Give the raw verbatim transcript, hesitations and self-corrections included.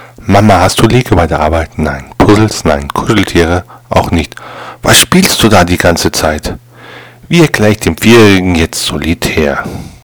Mama, hast du Lego bei der Arbeit? Nein. Puzzles? Nein. Kuscheltiere? Auch nicht. Was spielst du da die ganze Zeit? Wie erkläre ich dem Vierjährigen jetzt Solitär?